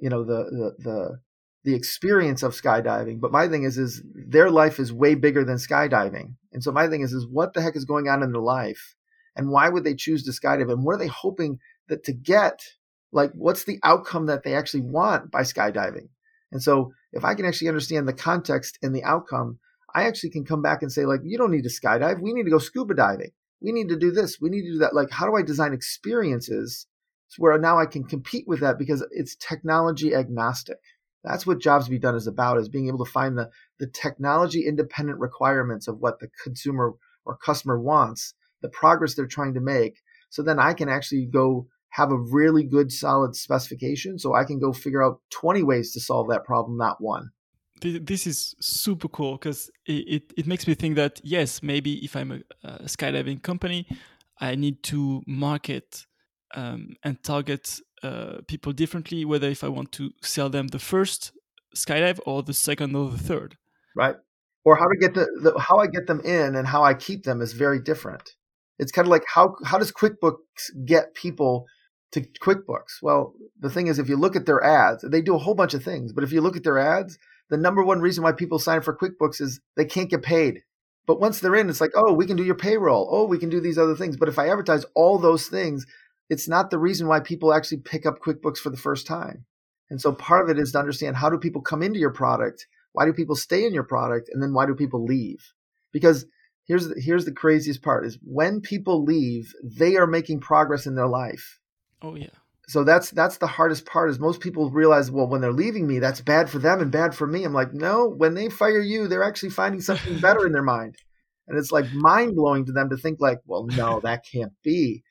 experience of skydiving, but my thing is their life is way bigger than skydiving. And so my thing is what the heck is going on in their life, and why would they choose to skydive, and what are they hoping that to get? Like, what's the outcome that they actually want by skydiving? And so if I can actually understand the context and the outcome, I actually can come back and say, like, you don't need to skydive. We need to go scuba diving. We need to do this. We need to do that. Like, how do I design experiences where now I can compete with that, because it's technology agnostic? That's what Jobs to be Done is about, is being able to find the technology independent requirements of what the consumer or customer wants, the progress they're trying to make. So then I can actually go have a really good solid specification, so I can go figure out 20 ways to solve that problem, not one. This is super cool, because it makes me think that, yes, maybe if I'm a skydiving company, I need to market and target people differently, whether if I want to sell them the first skydive or the second or the third. Right. Or how to get how I get them in and how I keep them is very different. It's kind of like how does QuickBooks get people to QuickBooks? Well, the thing is, if you look at their ads, they do a whole bunch of things. But if you look at their ads, the number one reason why people sign up for QuickBooks is they can't get paid. But once they're in, it's like, oh, we can do your payroll. Oh, we can do these other things. But if I advertise all those things, it's not the reason why people actually pick up QuickBooks for the first time. And so part of it is to understand, how do people come into your product? Why do people stay in your product? And then why do people leave? Because here's the craziest part is when people leave, they are making progress in their life. Oh, yeah. So that's the hardest part is most people realize, well, when they're leaving me, that's bad for them and bad for me. I'm like, no, when they fire you, they're actually finding something better in their mind. And it's like mind blowing to them to think like, well, no, that can't be.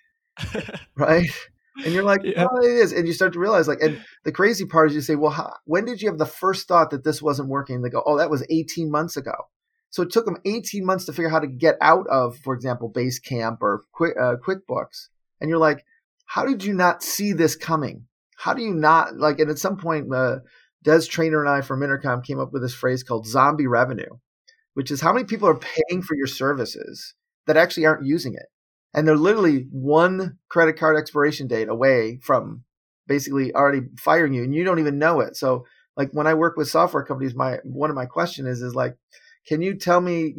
Right. And you're like, yeah. Oh, it is. And you start to realize like, and the crazy part is you say, well, when did you have the first thought that this wasn't working? They go, oh, that was 18 months ago. So it took them 18 months to figure out how to get out of, for example, Basecamp or QuickBooks. And you're like, how did you not see this coming? How do you not like, and at some point, Des Traynor and I from Intercom came up with this phrase called zombie revenue, which is how many people are paying for your services that actually aren't using it. And they're literally one credit card expiration date away from basically already firing you and you don't even know it. So like when I work with software companies, one of my questions is like, can you tell me,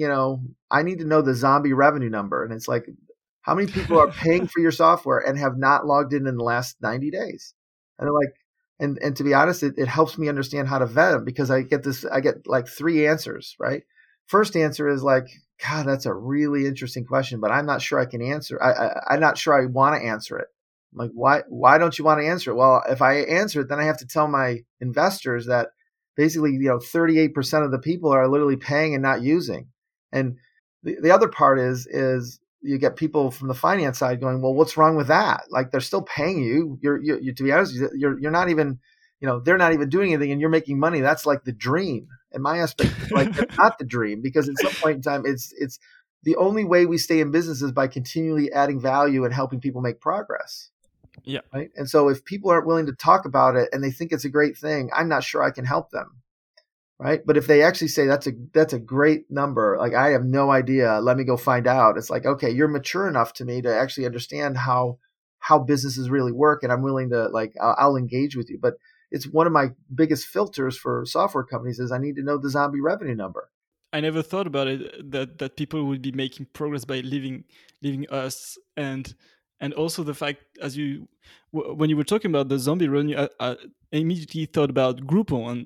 I need to know the zombie revenue number. And it's like, how many people are paying for your software and have not logged in the last 90 days? And they're like, and to be honest, it helps me understand how to vet them because I get like 3 answers, right? First answer is like, God, that's a really interesting question, but I'm not sure I can answer. I'm not sure I want to answer it. I'm like, why don't you want to answer it? Well, if I answer it, then I have to tell my investors that basically, 38% of the people are literally paying and not using. And the other part is you get people from the finance side going, well, what's wrong with that? Like they're still paying you. You're to be honest, you're not even, they're not even doing anything and you're making money. That's like the dream. And my aspect is like, that's not the dream because at some point in time, it's the only way we stay in business is by continually adding value and helping people make progress. Yeah. Right. And so if people aren't willing to talk about it and they think it's a great thing, I'm not sure I can help them. Right. But if they actually say that's a great number, like I have no idea, let me go find out. It's like, okay, you're mature enough to me to actually understand how businesses really work. And I'm willing to I'll engage with you. But it's one of my biggest filters for software companies is I need to know the zombie revenue number. I never thought about it, that people would be making progress by leaving us. And also the fact, when you were talking about the zombie revenue, I immediately thought about Groupon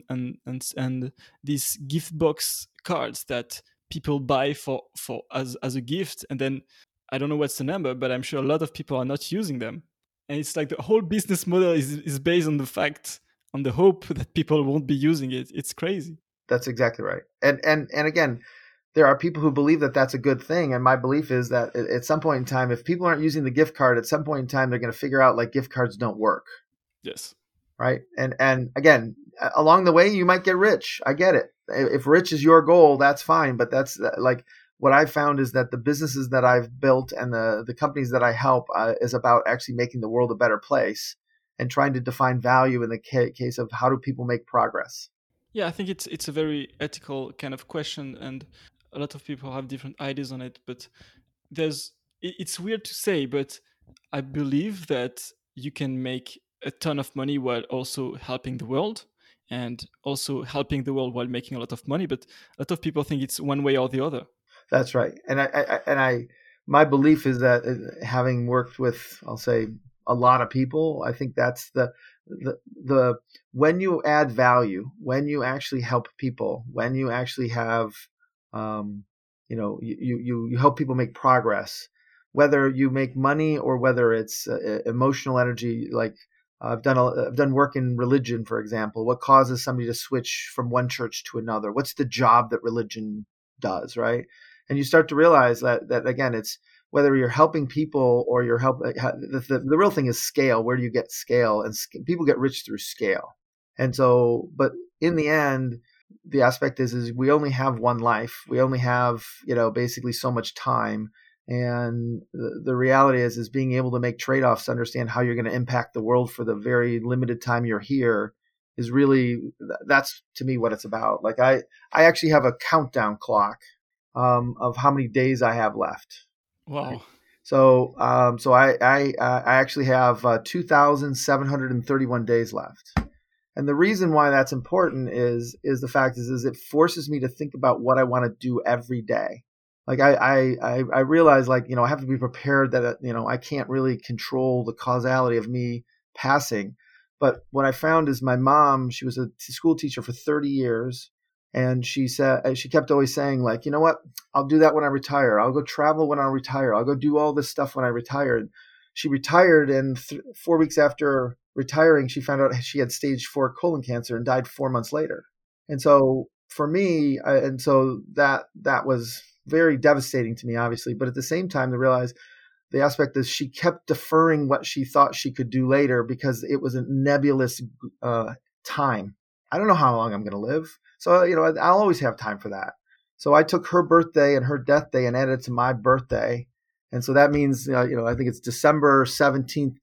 and these gift box cards that people buy for as a gift, and then I don't know what's the number, but I'm sure a lot of people are not using them. And it's like the whole business model is based on the hope that people won't be using it. It's crazy. That's exactly right. And again, there are people who believe that that's a good thing. And my belief is that at some point in time, if people aren't using the gift card, at some point in time, they're going to figure out like gift cards don't work. Yes. Right. And again, along the way, you might get rich. I get it. If rich is your goal, that's fine. But that's like what I've found is that the businesses that I've built and the companies that I help is about actually making the world a better place and trying to define value in the case of how do people make progress. Yeah, I think it's a very ethical kind of question, and a lot of people have different ideas on it. But it's weird to say, but I believe that you can make a ton of money while also helping the world, and also helping the world while making a lot of money. But a lot of people think it's one way or the other. That's right, and my belief is that having worked with, I'll say, a lot of people, I think that's the when you add value, when you actually help people, when you actually have, you help people make progress, whether you make money or whether it's emotional energy. Like I've done work in religion, for example. What causes somebody to switch from one church to another? What's the job that religion does, right? And you start to realize that again, it's whether you're helping people or you're the real thing is scale. Where do you get scale? And people get rich through scale. And so, but in the end, the aspect is we only have one life. We only have, basically so much time. And the reality is being able to make trade-offs, understand how you're going to impact the world for the very limited time you're here is really, that's to me what it's about. Like I actually have a countdown clock of how many days I have left. Wow. So I actually have 2,731 days left. And the reason why that's important is the fact is it forces me to think about what I want to do every day. Like I realize, like, I have to be prepared that, I can't really control the causality of me passing. But what I found is my mom, she was a school teacher for 30 years. And she kept always saying, like, you know what, I'll do that when I retire. I'll go travel when I retire. I'll go do all this stuff when I retire. She retired, and 4 weeks after retiring, she found out she had stage 4 colon cancer and died 4 months later. And so for me, that was very devastating to me, obviously. But at the same time, to realize the aspect is she kept deferring what she thought she could do later because it was a nebulous time. I don't know how long I'm going to live. So, I'll always have time for that. So I took her birthday and her death day and added it to my birthday. And so that means, I think it's December 17th,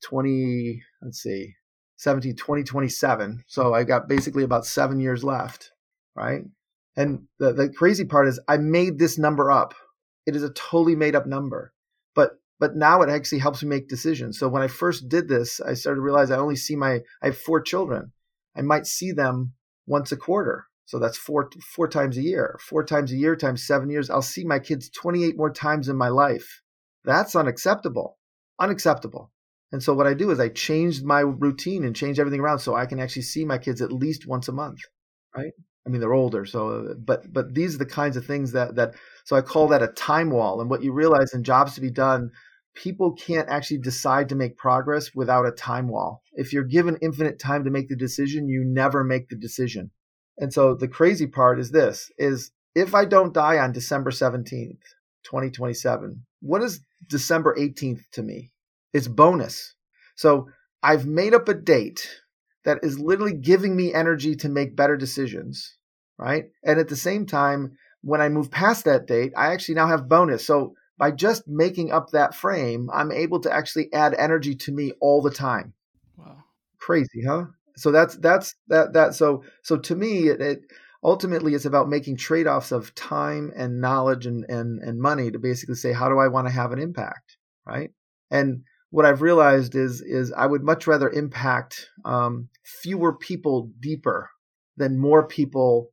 2027. So I got basically about 7 years left, right? And the crazy part is I made this number up. It is a totally made up number. But now it actually helps me make decisions. So when I first did this, I started to realize I have 4 children. I might see them once a quarter. So that's four times a year. 4 times a year times 7 years. I'll see my kids 28 more times in my life. That's unacceptable. Unacceptable. And so what I do is I changed my routine and changed everything around so I can actually see my kids at least once a month, right? I mean, they're older, so but these are the kinds of things that so I call that a time wall. And what you realize in Jobs to Be Done, people can't actually decide to make progress without a time wall. If you're given infinite time to make the decision, you never make the decision. And so the crazy part is this, is if I don't die on December 17th, 2027, what is December 18th to me? It's bonus. So I've made up a date that is literally giving me energy to make better decisions, right? And at the same time, when I move past that date, I actually now have bonus. So by just making up that frame, I'm able to actually add energy to me all the time. Wow. Crazy, huh? So that's that. So to me, it ultimately it's about making trade-offs of time and knowledge and money to basically say, how do I want to have an impact, right? And what I've realized is I would much rather impact fewer people deeper than more people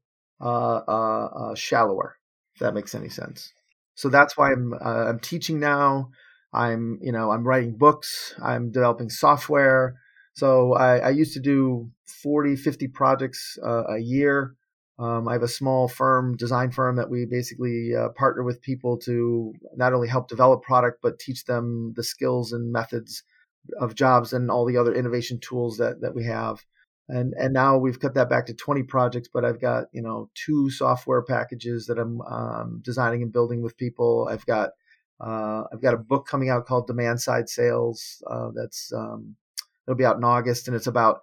shallower, if that makes any sense. So that's why I'm teaching now. I'm writing books. I'm developing software. So I used to do 40, 50 projects a year. I have a small design firm that we basically partner with people to not only help develop product, but teach them the skills and methods of Jobs and all the other innovation tools that we have. And now we've cut that back to 20 projects, but I've got, 2 software packages that I'm designing and building with people. I've got a book coming out called Demand Side Sales. It'll be out in August, and it's about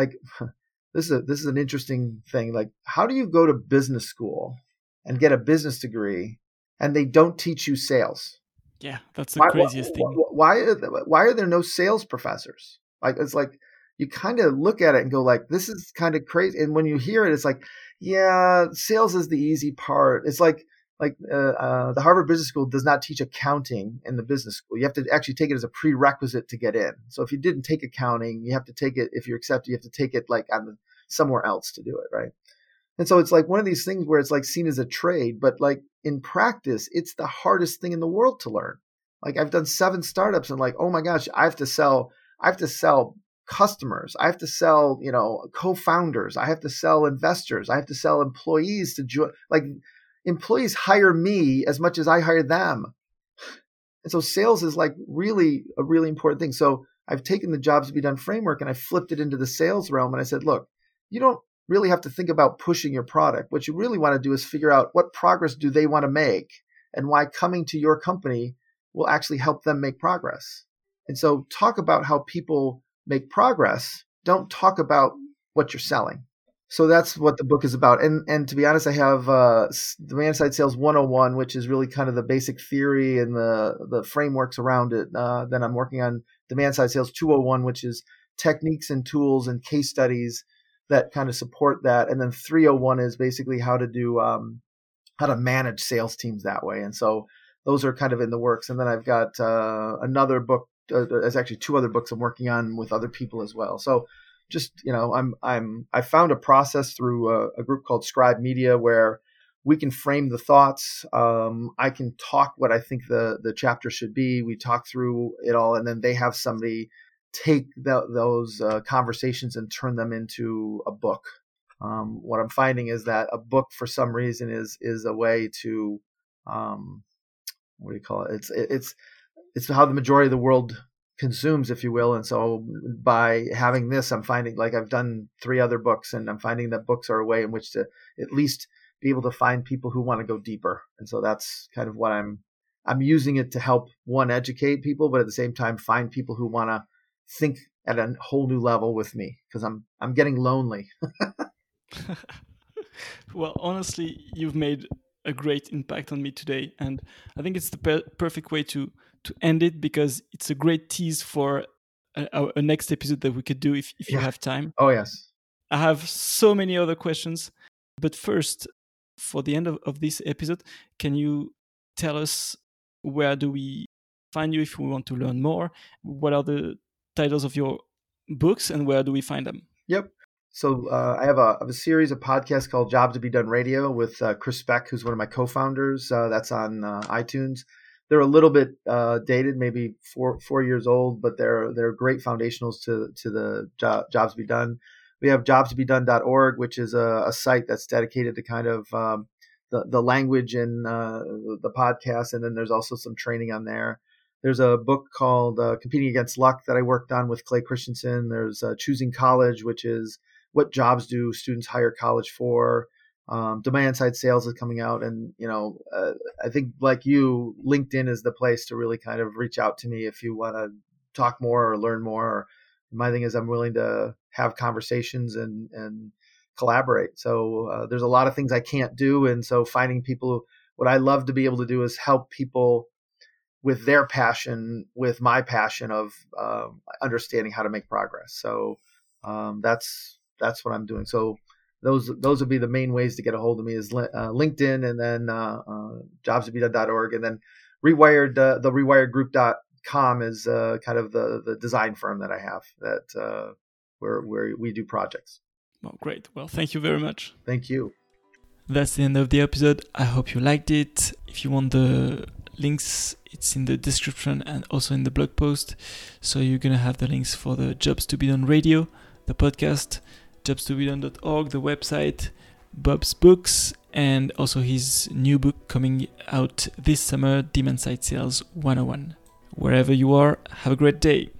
this is an interesting thing. Like, how do you go to business school and get a business degree and they don't teach you sales? Yeah, that's the craziest thing. Why are there no sales professors? It's like you kind of look at it and go like, this is kind of crazy. And when you hear it, it's like, yeah, sales is the easy part. It's like the Harvard Business School does not teach accounting in the business school. You have to actually take it as a prerequisite to get in. So if you didn't take accounting, you have to take it. If you're accepted, you have to take it somewhere else to do it, right? And so it's like one of these things where it's like seen as a trade, but like in practice, it's the hardest thing in the world to learn. Like I've done 7 startups and like, oh my gosh, I have to sell customers. I have to sell, co-founders. I have to sell investors. I have to sell employees to join. Like employees hire me as much as I hire them. And so sales is like really a really important thing. So I've taken the Jobs to Be Done framework and I flipped it into the sales realm. And I said, look, you don't really have to think about pushing your product. What you really want to do is figure out what progress do they want to make and why coming to your company will actually help them make progress. And so talk about how people make progress. Don't talk about what you're selling. So that's what the book is about. And to be honest, I have Demand Side Sales 101, which is really kind of the basic theory and the frameworks around it. Then I'm working on Demand Side Sales 201, which is techniques and tools and case studies that kind of support that. And then 301 is basically how to manage sales teams that way. And so those are kind of in the works. And then I've got another book. There's actually 2 other books I'm working on with other people as well. So just, I found a process through a group called Scribe Media where we can frame the thoughts. I can talk what I think the chapter should be. We talk through it all, and then they have somebody take those conversations and turn them into a book. What I'm finding is that a book, for some reason, is a way to what do you call it? It's how the majority of the world consumes, if you will. And so by having this, I'm finding, like, I've done 3 other books, and I'm finding that books are a way in which to at least be able to find people who want to go deeper. And so that's kind of what I'm using it to help, one, educate people, but at the same time find people who want to think at a whole new level with me, because I'm getting lonely. Well, honestly, you've made a great impact on me today, and I think it's the perfect way to end it, because it's a great tease for a next episode that we could do if you have time. Oh, yes. I have so many other questions, but first, for the end of this episode, can you tell us where do we find you if we want to learn more? What are the titles of your books, and where do we find them? Yep. So I have a series of podcasts called Jobs to Be Done Radio with Chris Speck, who's one of my co-founders. That's on iTunes. They're a little bit dated, maybe 4 years old, but they're great foundationals to the Jobs to Be Done. We have jobstobedone.org, which is a site that's dedicated to kind of the language and the podcast. And then there's also some training on there. There's a book called Competing Against Luck that I worked on with Clay Christensen. There's Choosing College, which is what jobs do students hire college for. Demand Side Sales is coming out. And, I think, like you, LinkedIn is the place to really kind of reach out to me if you want to talk more or learn more. My thing is I'm willing to have conversations and collaborate. So there's a lot of things I can't do. And so finding people, what I love to be able to do is help people with their passion, with my passion of understanding how to make progress. So that's what I'm doing. So those would be the main ways to get a hold of me, is LinkedIn, and then jobstobedone.org, and then Rewired, the rewiredgroup.com is kind of the design firm that I have that where we do projects. Well, great. Well, thank you very much. Thank you. That's the end of the episode. I hope you liked it. If you want the links, it's in the description and also in the blog post. So you're going to have the links for the Jobs to Be Done Radio, the podcast, jobstobedone.org, the website, Bob's books, and also his new book coming out this summer, Demand Side Sales 101. Wherever you are, have a great day.